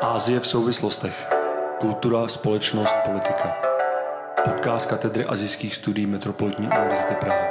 Asie v souvislostech. Kultura, společnost, politika. Podcast katedry asijských studií Metropolitní univerzity Praha.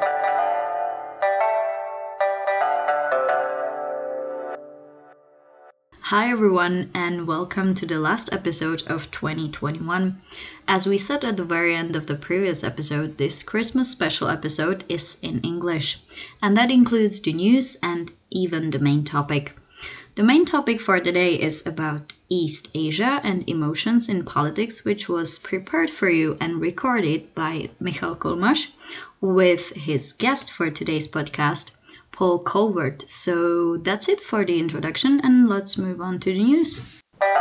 Hi everyone and welcome to the last episode of 2021. As we said at the very end of the previous episode, this Christmas special episode is in English, and that includes the news and even the main topic. The main topic for today is about East Asia and emotions in politics, which was prepared for you and recorded by Michal Kolmaš with his guest for today's podcast, Paul Colbert. So that's it for the introduction, and let's move on to the news.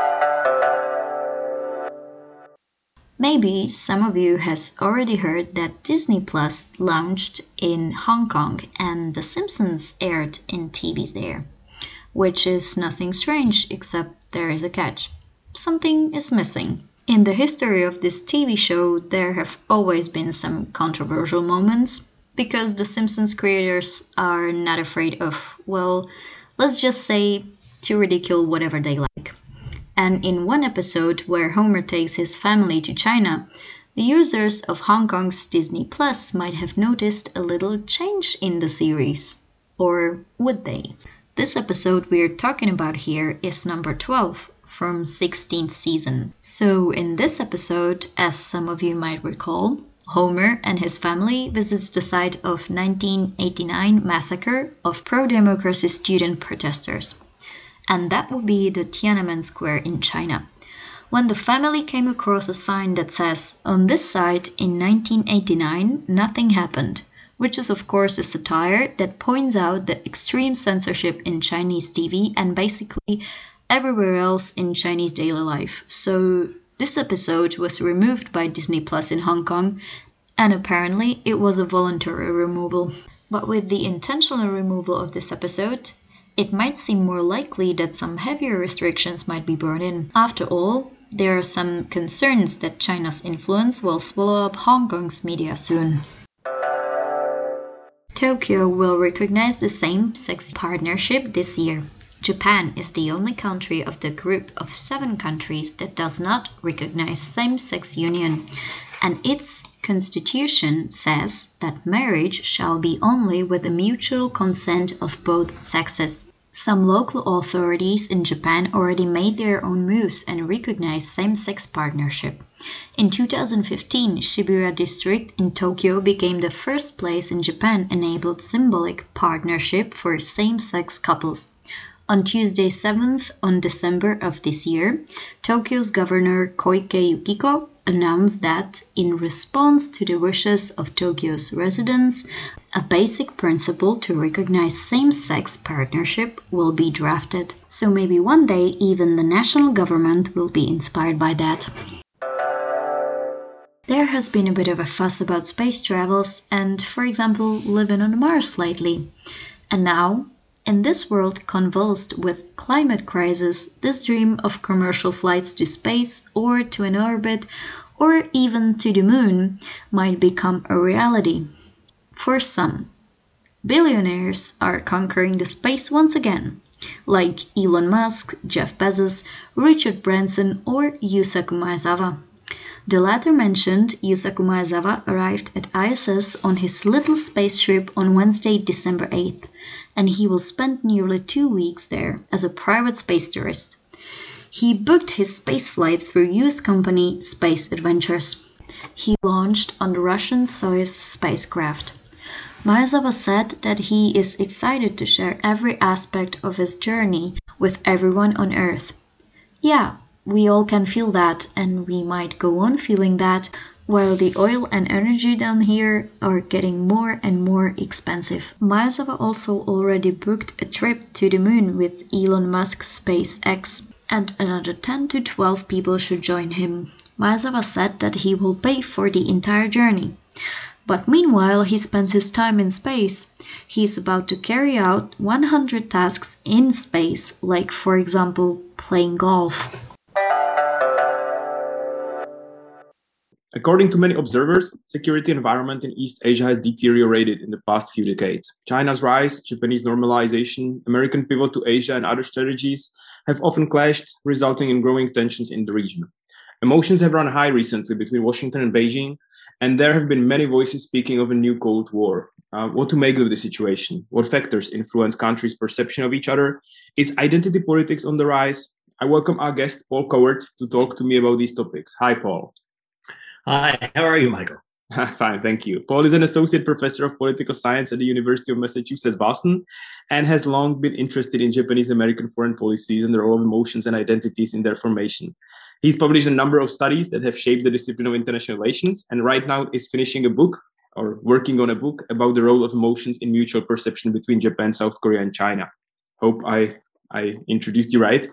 Maybe some of you has already heard that Disney Plus launched in Hong Kong and The Simpsons aired in TVs there, which is nothing strange except there is a catch. Something is missing. In the history of this TV show, there have always been some controversial moments, because the Simpsons creators are not afraid of, well, let's just say, to ridicule whatever they like. And in one episode where Homer takes his family to China, the users of Hong Kong's Disney Plus might have noticed a little change in the series. Or would they? This episode we're talking about here is number 12 from 16th season. So in this episode, as some of you might recall, Homer and his family visits the site of 1989 massacre of pro-democracy student protesters. And that would be the Tiananmen Square in China. When the family came across a sign that says, on this site in 1989, nothing happened, which is of course a satire that points out the extreme censorship in Chinese TV and basically everywhere else in Chinese daily life. So this episode was removed by Disney Plus in Hong Kong, and apparently it was a voluntary removal. But with the intentional removal of this episode, it might seem more likely that some heavier restrictions might be brought in. After all, there are some concerns that China's influence will swallow up Hong Kong's media soon. Tokyo will recognize the same-sex partnership this year. Japan is the only country of the group of 7 countries that does not recognize same-sex union, and its constitution says that marriage shall be only with the mutual consent of both sexes. Some local authorities in Japan already made their own moves and recognized same-sex partnership. In 2015, Shibuya District in Tokyo became the first place in Japan enabled symbolic partnership for same-sex couples. On Tuesday 7th on December of this year, Tokyo's Governor Koike Yukiko announced that, in response to the wishes of Tokyo's residents, a basic principle to recognize same-sex partnership will be drafted. So maybe one day even the national government will be inspired by that. There has been a bit of a fuss about space travels and, for example, living on Mars lately. And now, in this world convulsed with climate crisis, this dream of commercial flights to space or to an orbit or even to the moon might become a reality. For some, billionaires are conquering the space once again, like Elon Musk, Jeff Bezos, Richard Branson or Yusaku Maezawa. The latter mentioned, Yusaku Maezawa arrived at ISS on his little spaceship on Wednesday, December 8th, and he will spend nearly 2 weeks there as a private space tourist. He booked his spaceflight through US company Space Adventures. He launched on the Russian Soyuz spacecraft. Maezawa said that he is excited to share every aspect of his journey with everyone on Earth. Yeah, we all can feel that, and we might go on feeling that while the oil and energy down here are getting more and more expensive. Maezawa also already booked a trip to the moon with Elon Musk's SpaceX, and another 10 to 12 people should join him. Maezawa said that he will pay for the entire journey. But meanwhile, he spends his time in space. He is about to carry out 100 tasks in space, like, for example, playing golf. According to many observers, security environment in East Asia has deteriorated in the past few decades. China's rise, Japanese normalization, American pivot to Asia and other strategies have often clashed, resulting in growing tensions in the region. Emotions have run high recently between Washington and Beijing, and there have been many voices speaking of a new Cold War. What to make of the situation? What factors influence countries' perception of each other? Is identity politics on the rise? I welcome our guest, Paul Coward, to talk to me about these topics. Hi, Paul. Hi, how are you, Michael? Fine, thank you. Paul is an associate professor of political science at the University of Massachusetts, Boston, and has long been interested in Japanese-American foreign policies and the role of emotions and identities in their formation. He's published a number of studies that have shaped the discipline of international relations, and right now is finishing a book or working on a book about the role of emotions in mutual perception between Japan, South Korea, and China. Hope I introduced you right.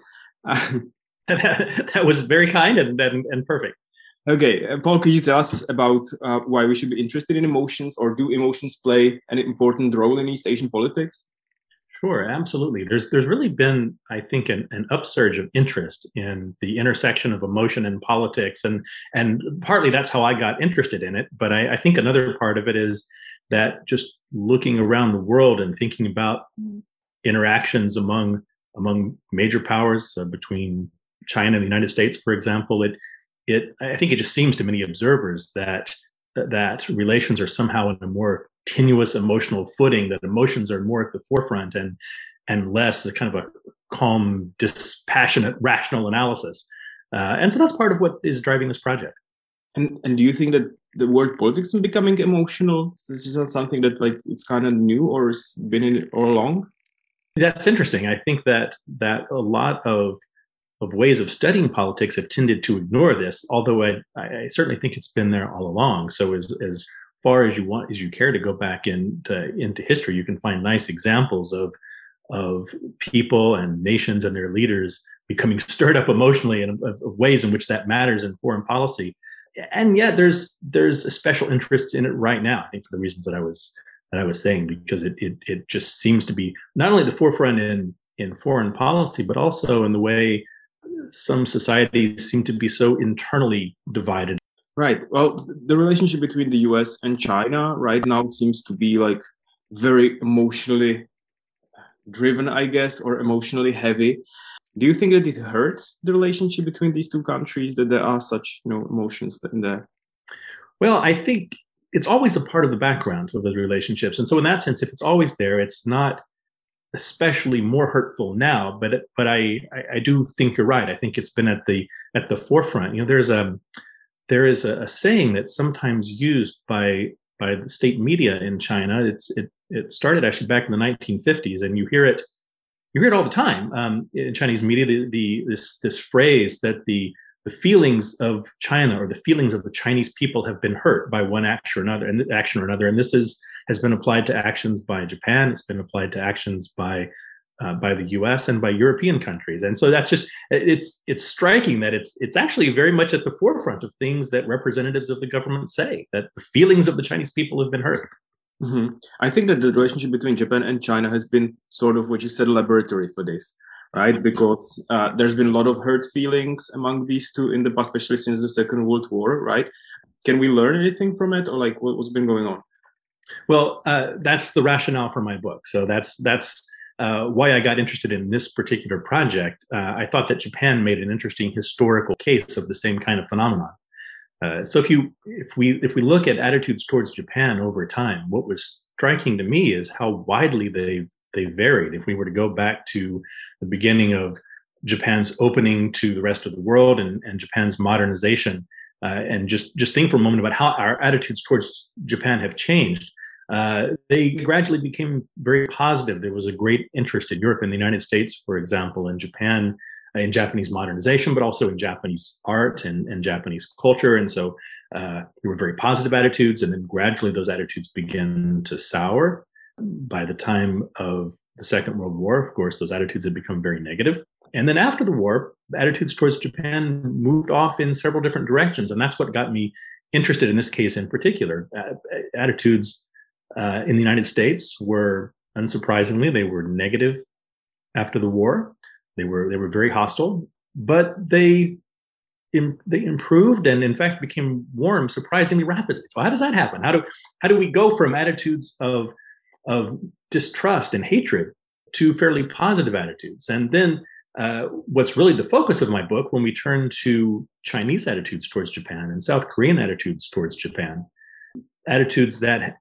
That was very kind and perfect. Okay, Paul, could you tell us about why we should be interested in emotions, or do emotions play an important role in East Asian politics? Sure, absolutely. There's really been, I think, an upsurge of interest in the intersection of emotion and politics, and partly that's how I got interested in it. But I think another part of it is that just looking around the world and thinking about interactions among major powers between China and the United States, for example, I think it just seems to many observers that relations are somehow in a more tenuous emotional footing, that emotions are more at the forefront and less a kind of a calm, dispassionate, rational analysis. And so that's part of what is driving this project. And do you think that the world politics is becoming emotional? This is not something that it's kind of new or has been in it all along? That's interesting. I think that a lot of ways of studying politics have tended to ignore this, although I certainly think it's been there all along. So as far as you care to go back into history, you can find nice examples of people and nations and their leaders becoming stirred up emotionally and of ways in which that matters in foreign policy. And yet there's a special interest in it right now, I think, for the reasons that I was saying, because it just seems to be not only the forefront in foreign policy, but also in the way some societies seem to be so internally divided. Right. Well, the relationship between the US and China right now seems to be very emotionally driven, I guess, or emotionally heavy. Do you think that it hurts the relationship between these two countries, that there are such emotions in there? Well, I think it's always a part of the background of the relationships. And so in that sense, if it's always there, it's not especially more hurtful now, but I do think you're right. I think it's been at the forefront. There is a saying that's sometimes used by the state media in China. It started actually back in the 1950s, and you hear it all the time in Chinese media. This phrase that the feelings of China or the feelings of the Chinese people have been hurt by one action or another, and this has been applied to actions by Japan. It's been applied to actions by the U.S. and by European countries. And so that's just it's striking that it's actually very much at the forefront of things that representatives of the government say, that the feelings of the Chinese people have been hurt. Mm-hmm. I think that the relationship between Japan and China has been sort of what you said, a laboratory for this, right? Because there's been a lot of hurt feelings among these two in the past, especially since the Second World War, right? Can we learn anything from it, or what's been going on? Well, that's the rationale for my book. So that's why I got interested in this particular project. I thought that Japan made an interesting historical case of the same kind of phenomenon. So if we look at attitudes towards Japan over time, what was striking to me is how widely they varied. If we were to go back to the beginning of Japan's opening to the rest of the world and Japan's modernization, and just think for a moment about how our attitudes towards Japan have changed. They gradually became very positive. There was a great interest in Europe and the United States, for example, in Japan, in Japanese modernization, but also in Japanese art and Japanese culture. And so there were very positive attitudes, and then gradually those attitudes began to sour. By the time of the Second World War, of course, those attitudes had become very negative. And then after the war, attitudes towards Japan moved off in several different directions. And that's what got me interested in this case in particular. Attitudes in the United States were, unsurprisingly, they were negative after the war. They were very hostile, but they improved and in fact became warm surprisingly rapidly. So how does that happen? How do we go from attitudes of distrust and hatred to fairly positive attitudes? And then what's really the focus of my book, when we turn to Chinese attitudes towards Japan and South Korean attitudes towards Japan, attitudes that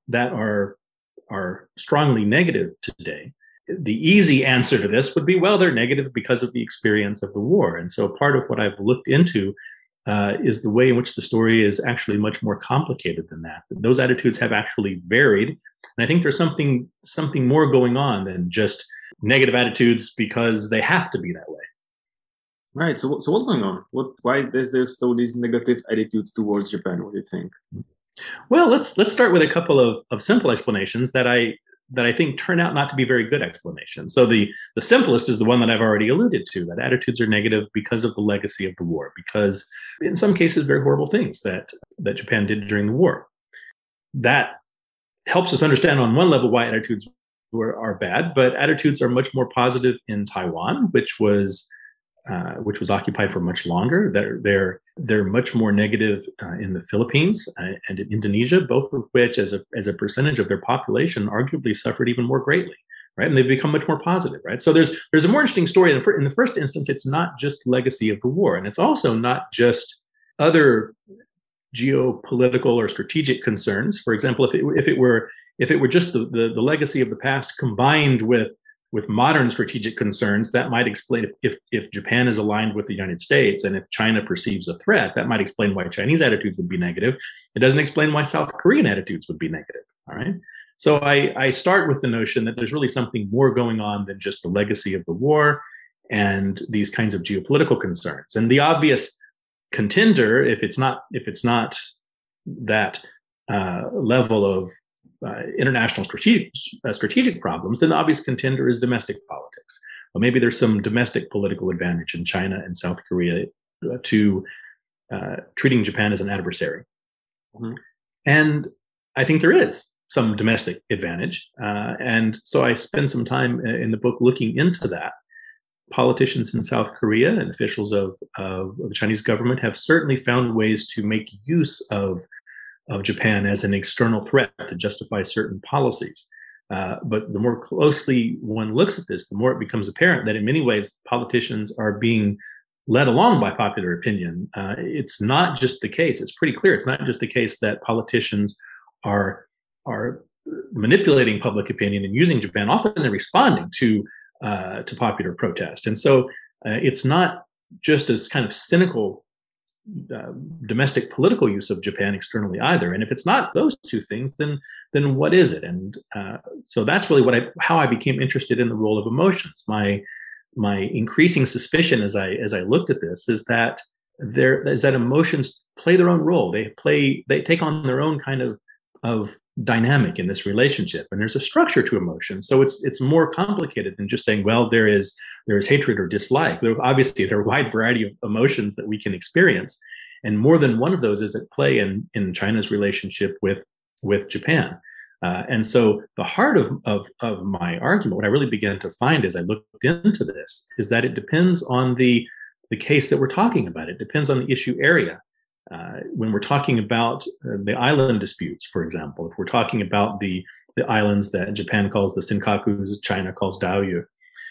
are strongly negative today, the easy answer to this would be, well, they're negative because of the experience of the war. And so part of what I've looked into is the way in which the story is actually much more complicated than that. Those attitudes have actually varied. And I think there's something more going on than just negative attitudes because they have to be that way. Right. So what's going on? Why is there so these negative attitudes towards Japan? What do you think? Well, let's start with a couple of simple explanations that I think turn out not to be very good explanations. So the simplest is the one that I've already alluded to, that attitudes are negative because of the legacy of the war, because in some cases, very horrible things that Japan did during the war. That helps us understand on one level why attitudes are bad, but attitudes are much more positive in Taiwan, which was occupied for much longer. They're much more negative in the Philippines and in Indonesia, both of which, as a percentage of their population, arguably suffered even more greatly, right? And they've become much more positive, right? So there's a more interesting story. In the first instance, it's not just legacy of the war, and it's also not just other geopolitical or strategic concerns. For example, if it were just the legacy of the past combined with modern strategic concerns, that might explain if Japan is aligned with the United States and if China perceives a threat, that might explain why Chinese attitudes would be negative. It doesn't explain why South Korean attitudes would be negative. All right. So I start with the notion that there's really something more going on than just the legacy of the war and these kinds of geopolitical concerns. And the obvious contender, if it's not that level of international strategic problems, then the obvious contender is domestic politics. Well, maybe there's some domestic political advantage in China and South Korea to treating Japan as an adversary. Mm-hmm. And I think there is some domestic advantage. And so I spend some time in the book looking into that. Politicians in South Korea and officials of the Chinese government have certainly found ways to make use of Japan as an external threat to justify certain policies. But the more closely one looks at this, the more it becomes apparent that in many ways, politicians are being led along by popular opinion. It's not just the case. It's pretty clear. It's not just the case that politicians are manipulating public opinion and using Japan. Often they're responding to popular protest. And so it's not just as kind of cynical domestic political use of Japan externally either. And if it's not those two things, then what is it? And so that's really how I became interested in the role of emotions. My increasing suspicion as I looked at this is that emotions play their own role. They take on their own kind of dynamic in this relationship, and there's a structure to emotion. So it's more complicated than just saying, well, there is hatred or dislike. Obviously, there are a wide variety of emotions that we can experience, and more than one of those is at play in China's relationship with Japan. And so the heart of my argument, what I really began to find as I looked into this, is that it depends on the case that we're talking about. It depends on the issue area. When we're talking about the island disputes, for example, if we're talking about the islands that Japan calls the Senkakus, China calls Diaoyu,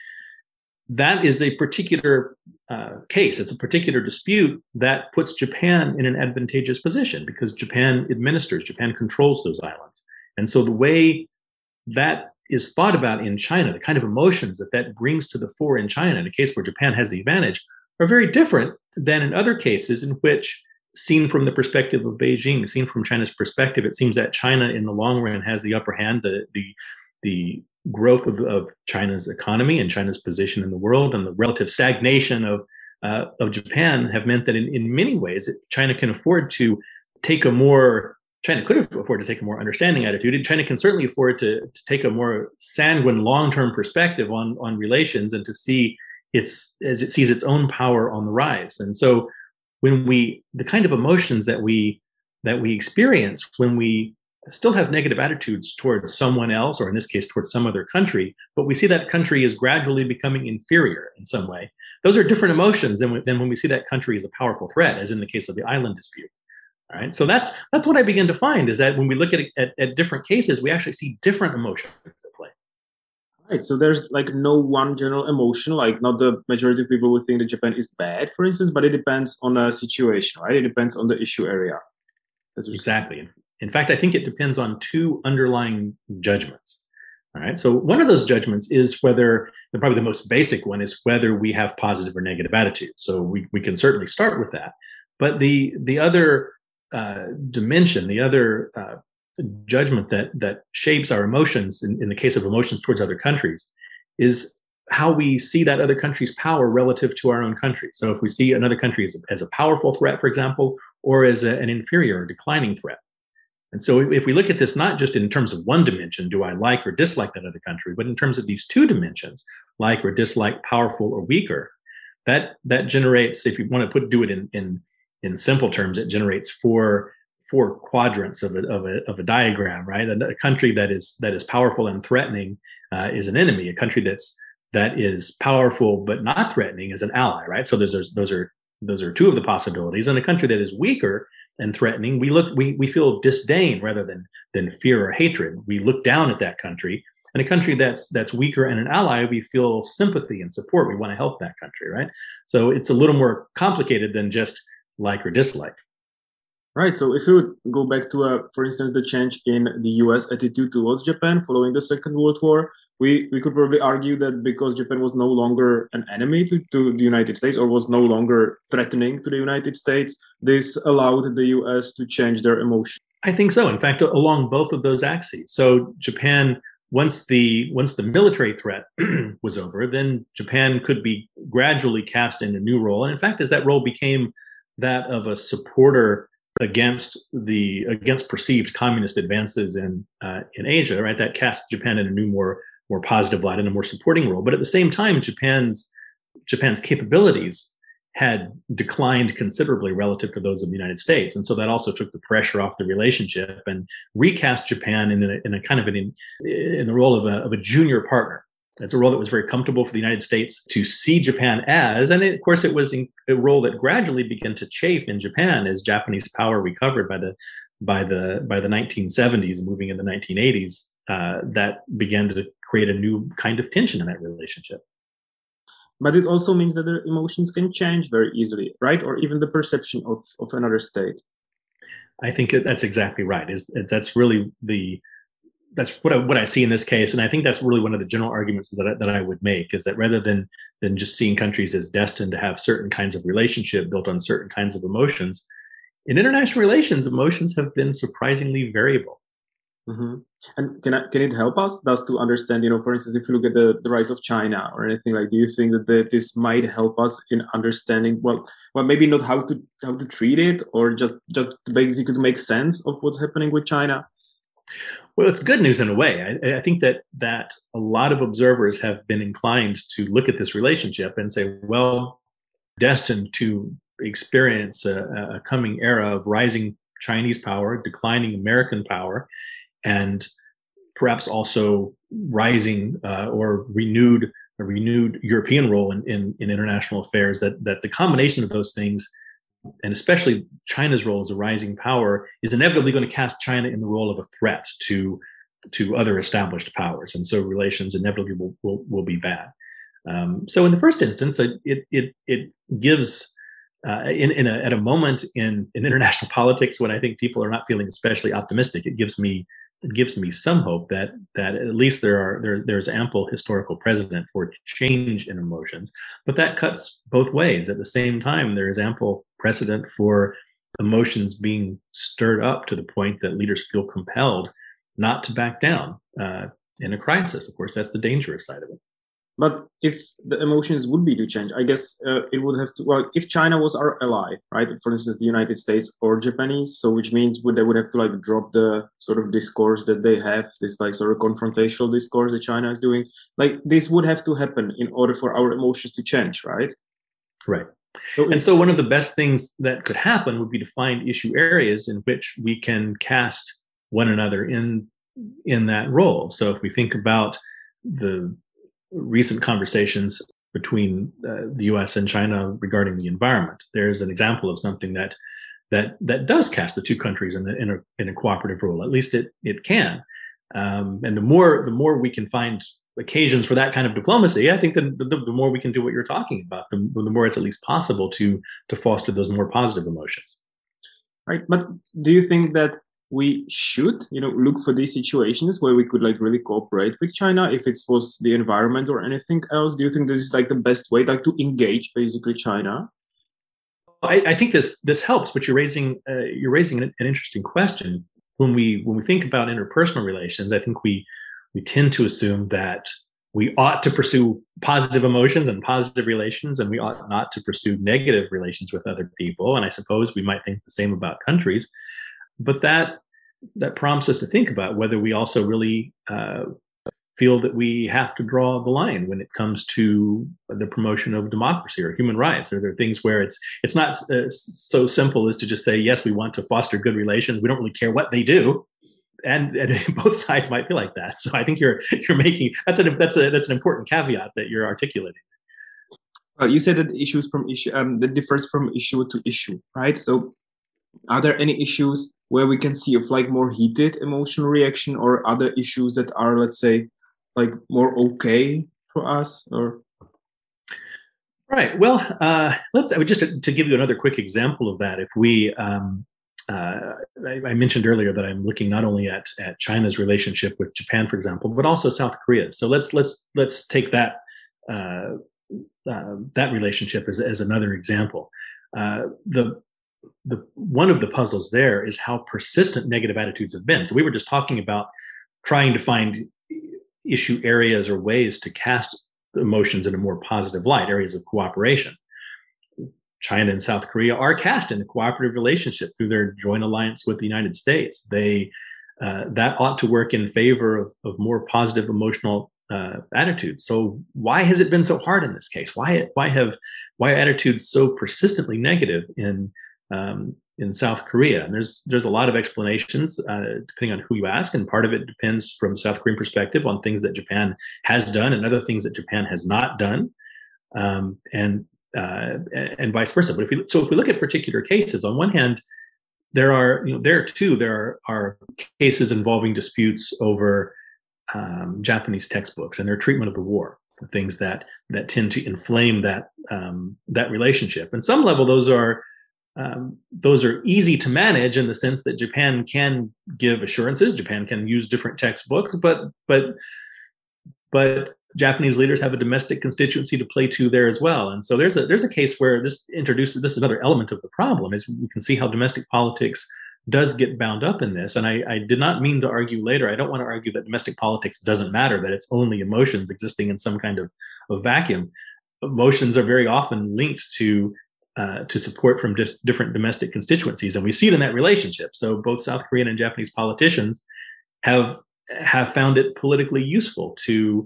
that is a particular case. It's a particular dispute that puts Japan in an advantageous position because Japan controls those islands. And so the way that is thought about in China, the kind of emotions that brings to the fore in China, in a case where Japan has the advantage, are very different than in other cases in which, seen from the perspective of Beijing, seen from China's perspective, it seems that China in the long run has the upper hand. The growth of China's economy and China's position in the world and the relative stagnation of Japan have meant that in many ways, China could afford to take a more understanding attitude, and China can certainly afford to take a more sanguine long-term perspective on relations and to see as it sees its own power on the rise. And so the kind of emotions that we experience when we still have negative attitudes towards someone else, or in this case, towards some other country, but we see that country is gradually becoming inferior in some way, those are different emotions than when we see that country as a powerful threat, as in the case of the island dispute. All right. So that's what I begin to find, is that when we look at different cases, we actually see different emotions at play. Right. So there's like no one general emotion, like not the majority of people would think that Japan is bad, for instance, but it depends on a situation, right? It depends on the issue area. Exactly. In fact, I think it depends on two underlying judgments. All right. So one of those judgments is whether, probably the most basic one is whether we have positive or negative attitudes. So we can certainly start with that. But the other dimension, the other judgment that shapes our emotions in the case of emotions towards other countries is how we see that other country's power relative to our own country. So if we see another country as a powerful threat, for example, or as an inferior or declining threat. And so if we look at this not just in terms of one dimension, do I like or dislike that other country, but in terms of these two dimensions, like or dislike, powerful or weaker, that generates, if you want to do it in simple terms, it generates four quadrants of a diagram, right? A country that is powerful and threatening is an enemy. A country that is powerful but not threatening is an ally, right? So those are two of the possibilities. And a country that is weaker and threatening, we feel disdain rather than fear or hatred. We look down at that country. And a country that's weaker and an ally, we feel sympathy and support. We want to help that country, right? So it's a little more complicated than just like or dislike. Right. So if you would go back to, for instance, the change in the U.S. attitude towards Japan following the Second World War, we could probably argue that because Japan was no longer an enemy to the United States or was no longer threatening to the United States, this allowed the U.S. to change their emotion. I think so. In fact, along both of those axes. So Japan, once the military threat was over, then Japan could be gradually cast in a new role. And in fact, as that role became that of a supporter against perceived communist advances in Asia, right? That cast Japan in a new, more positive light and a more supporting role. But at the same time, Japan's capabilities had declined considerably relative to those of the United States, and so that also took the pressure off the relationship and recast Japan in a kind of in the role of a junior partner. It's a role that was very comfortable for the United States to see Japan as, and of course it was a role that gradually began to chafe in Japan as Japanese power recovered by the 1970s and moving into the 1980s. That began to create a new kind of tension in that relationship. But it also means that their emotions can change very easily, right? Or even the perception of another state. I think that's exactly right. That's really that's what I see in this case, and I think that's really one of the general arguments that I would make, is that rather than just seeing countries as destined to have certain kinds of relationship built on certain kinds of emotions, in international relations, emotions have been surprisingly variable. Mm-hmm. And can it help us to understand, for instance, if you look at the rise of China or anything, like, do you think that this might help us in understanding, well, maybe not how to treat it, or just basically to make sense of what's happening with China? Well, it's good news in a way. I think that a lot of observers have been inclined to look at this relationship and say, well, destined to experience a coming era of rising Chinese power, declining American power, and perhaps also rising or renewed European role in international affairs. That the combination of those things, and especially China's role as a rising power, is inevitably going to cast China in the role of a threat to other established powers, and so relations inevitably will be bad. So in the first instance, it gives at a moment in international politics when I think people are not feeling especially optimistic, it gives me some hope that at least there's ample historical precedent for change in emotions, but that cuts both ways. At the same time, there is ample precedent for emotions being stirred up to the point that leaders feel compelled not to back down in a crisis. Of course, that's the dangerous side of it. But if the emotions would be to change, I guess it would have to, well, if China was our ally, right, for instance, the United States or Japanese, so which means they would have to like drop the sort of discourse that they have, this like sort of confrontational discourse that China is doing. Like, this would have to happen in order for our emotions to change, right? Right. So one of the best things that could happen would be to find issue areas in which we can cast one another in that role. So if we think about the recent conversations between the U.S. and China regarding the environment, there's an example of something that does cast the two countries in a cooperative role. At least it can. And the more we can find occasions for that kind of diplomacy, I think the more we can do what you're talking about, the more it's at least possible to foster those more positive emotions. Right. But do you think that we should, look for these situations where we could really cooperate with China, if it was the environment or anything else? Do you think this is the best way, to engage basically China? I think this helps, but you're raising an interesting question. When we think about interpersonal relations, I think we tend to assume that we ought to pursue positive emotions and positive relations, and we ought not to pursue negative relations with other people. And I suppose we might think the same about countries, but that prompts us to think about whether we also really feel that we have to draw the line when it comes to the promotion of democracy or human rights. Are there things where it's not so simple as to just say, yes, we want to foster good relations, we don't really care what they do, and both sides might feel like that. So I think you're making that's an important caveat that you're articulating. You said that that differs from issue to issue, right? So are there any issues where we can see more heated emotional reaction, or other issues that are, let's say, more okay for us? Or right. Well, just to give you another quick example of that. If we I mentioned earlier that I'm looking not only at China's relationship with Japan, for example, but also South Korea. So let's take that relationship as another example. The one of the puzzles there is how persistent negative attitudes have been. So we were just talking about trying to find issue areas or ways to cast emotions in a more positive light, areas of cooperation. China and South Korea are cast in a cooperative relationship through their joint alliance with the United States. That ought to work in favor of more positive emotional attitudes. So why has it been so hard in this case? Why are attitudes so persistently negative in South Korea? And there's a lot of explanations depending on who you ask, and part of it depends from South Korean perspective on things that Japan has done and other things that Japan has not done, and vice versa. But if we look at particular cases, on one hand, there are cases involving disputes over Japanese textbooks and their treatment of the war, things that tend to inflame that relationship. And some level, those are easy to manage in the sense that Japan can give assurances, Japan can use different textbooks, but Japanese leaders have a domestic constituency to play to there as well. And so there's a case where this is another element of the problem, is we can see how domestic politics does get bound up in this. And I did not mean to argue later, I don't want to argue that domestic politics doesn't matter, that it's only emotions existing in some kind of vacuum. Emotions are very often linked to support from different domestic constituencies, and we see it in that relationship. So both South Korean and Japanese politicians have found it politically useful to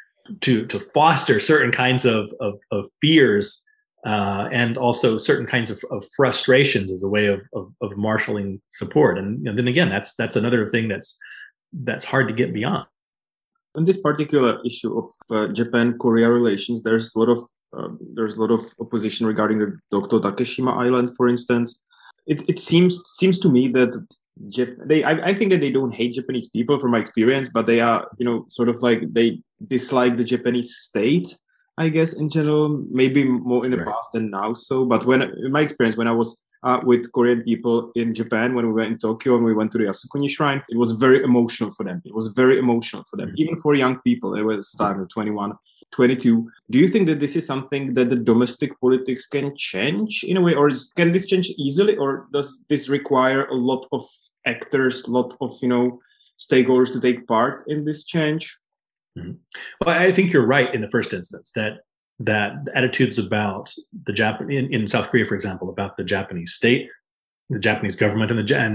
foster certain kinds of fears and also certain kinds of frustrations as a way of marshaling support. And then again, that's another thing that's hard to get beyond. On this particular issue of Japan-Korea relations, there's a lot of opposition regarding the Dokdo Takeshima Island, for instance. It seems to me that I think that they don't hate Japanese people from my experience, but they are, they dislike the Japanese state, I guess, in general, maybe more in the past than now. So, but in my experience, when I was with Korean people in Japan, when we were in Tokyo and we went to the Yasukuni Shrine, it was very emotional for them. Even for young people. They were starting 21, 22. Do you think that this is something that the domestic politics can change in a way, or can this change easily, or does this require a lot of actors, a lot of stakeholders to take part in this change? Mm-hmm. Well, I think you're right in the first instance that attitudes about the in South Korea, for example, about the Japanese state, the Japanese government,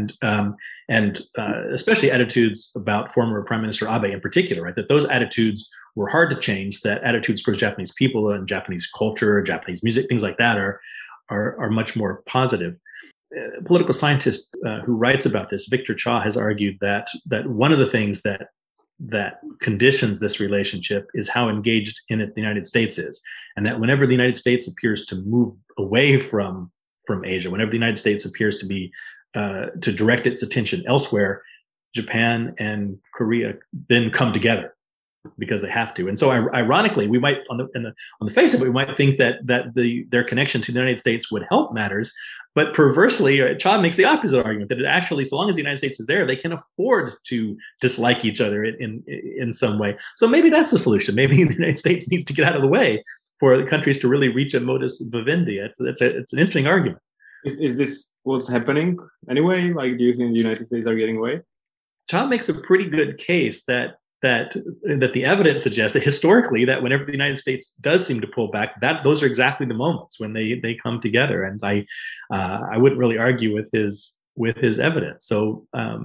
and especially attitudes about former Prime Minister Abe in particular, right? That those attitudes were hard to change. That attitudes towards Japanese people and Japanese culture, Japanese music, things like that are much more positive. A political scientist who writes about this, Victor Cha, has argued that one of the things that conditions this relationship is how engaged in it the United States is, and that whenever the United States appears to move away from Asia, whenever the United States appears to be to direct its attention elsewhere, Japan and Korea then come together because they have to. And so, ironically, we might, on the face of it, we might think that their connection to the United States would help matters. But perversely, Cha makes the opposite argument, that it actually, so long as the United States is there, they can afford to dislike each other in some way. So maybe that's the solution. Maybe the United States needs to get out of the way for the countries to really reach a modus vivendi. It's an interesting argument. Is this what's happening anyway? Like, do you think the United States are getting away? Cha makes a pretty good case that the evidence suggests that historically, that whenever the United States does seem to pull back, that those are exactly the moments when they come together. And I wouldn't really argue with his evidence. So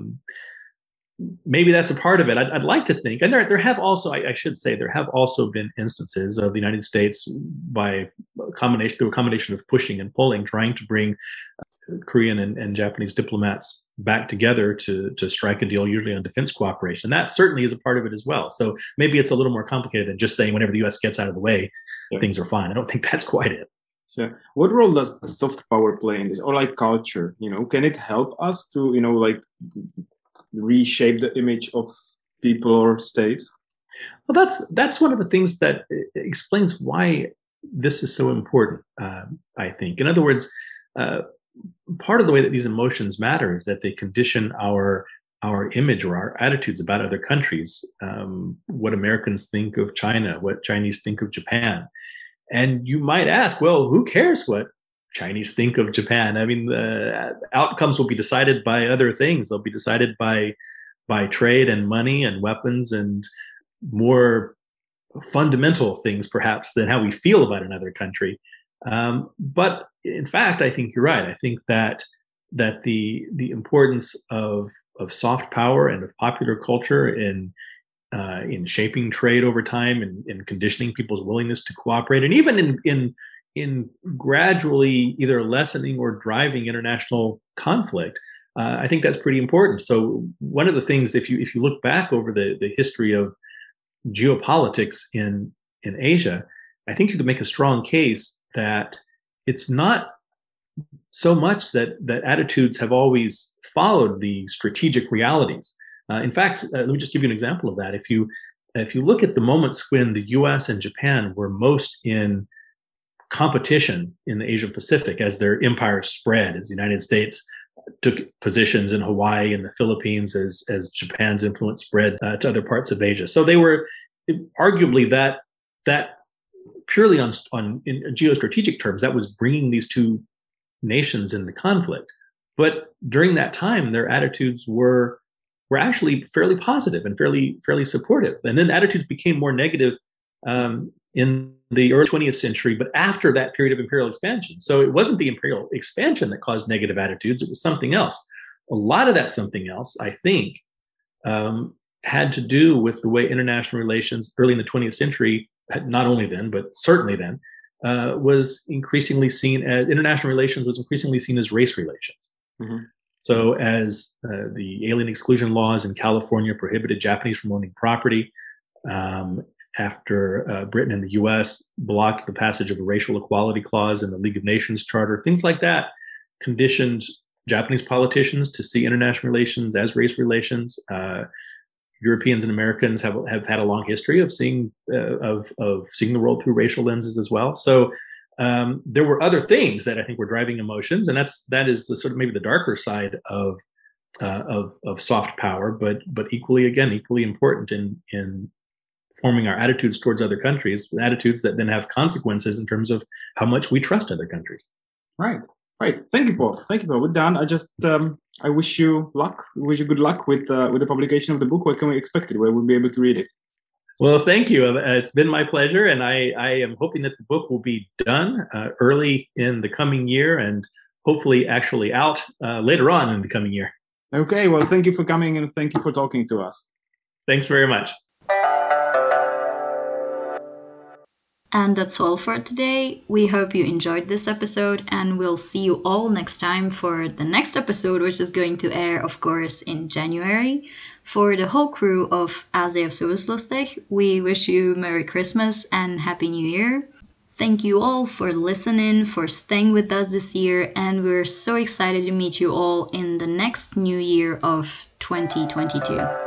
maybe that's a part of it. I'd like to think, and there have also, I should say, there have also been instances of the United States through a combination of pushing and pulling, trying to bring Korean and Japanese diplomats back together to strike a deal, usually on defense cooperation. That certainly is a part of it as well. So maybe it's a little more complicated than just saying whenever the U.S. gets out of the way, things are fine. I don't think that's quite it. Sure. What role does soft power play in this, or like culture? Can it help us to like reshape the image of people or states? Well, that's one of the things that explains why this is so important. I think, in other words, part of the way that these emotions matter is that they condition our image or our attitudes about other countries, what Americans think of China, what Chinese think of Japan. And you might ask, well, who cares what Chinese think of Japan? I mean, the outcomes will be decided by other things. They'll be decided by trade and money and weapons and more fundamental things, perhaps, than how we feel about another country. But in fact, I think you're right. I think that the importance of soft power and of popular culture in shaping trade over time and in conditioning people's willingness to cooperate, and even in gradually either lessening or driving international conflict, I think that's pretty important. So one of the things, if you look back over the history of geopolitics in Asia, I think you could make a strong case that it's not so much that attitudes have always followed the strategic realities. In fact, let me just give you an example of that. If you look at the moments when the U.S. and Japan were most in competition in the Asia Pacific as their empires spread, as the United States took positions in Hawaii and the Philippines, as Japan's influence spread to other parts of Asia. So they were arguably that purely in geostrategic terms, that was bringing these two nations into conflict. But during that time, their attitudes were actually fairly positive and fairly supportive. And then attitudes became more negative in the early 20th century, but after that period of imperial expansion. So it wasn't the imperial expansion that caused negative attitudes, it was something else. A lot of that something else, I think, had to do with the way international relations early in the 20th century, not only then, but certainly then, was increasingly seen as race relations. Mm-hmm. So as the alien exclusion laws in California prohibited Japanese from owning property, after Britain and the U.S. blocked the passage of a racial equality clause in the League of Nations Charter, things like that conditioned Japanese politicians to see international relations as race relations. Europeans and Americans have had a long history of seeing the world through racial lenses as well. So there were other things that I think were driving emotions, and that is the sort of maybe the darker side of soft power, but equally important in forming our attitudes towards other countries, attitudes that then have consequences in terms of how much we trust other countries. Right. Thank you, Paul. We're done. I wish you luck. We wish you good luck with the publication of the book. Where can we expect it? Where we'll be able to read it? Well, thank you. It's been my pleasure, and I am hoping that the book will be done early in the coming year, and hopefully actually out later on in the coming year. Okay. Well, thank you for coming, and thank you for talking to us. Thanks very much. And that's all for today. We hope you enjoyed this episode, and we'll see you all next time for the next episode, which is going to air, of course, in January. For the whole crew of ASEF Souvislustig, we wish you Merry Christmas and Happy New Year. Thank you all for listening, for staying with us this year, and we're so excited to meet you all in the next new year of 2022.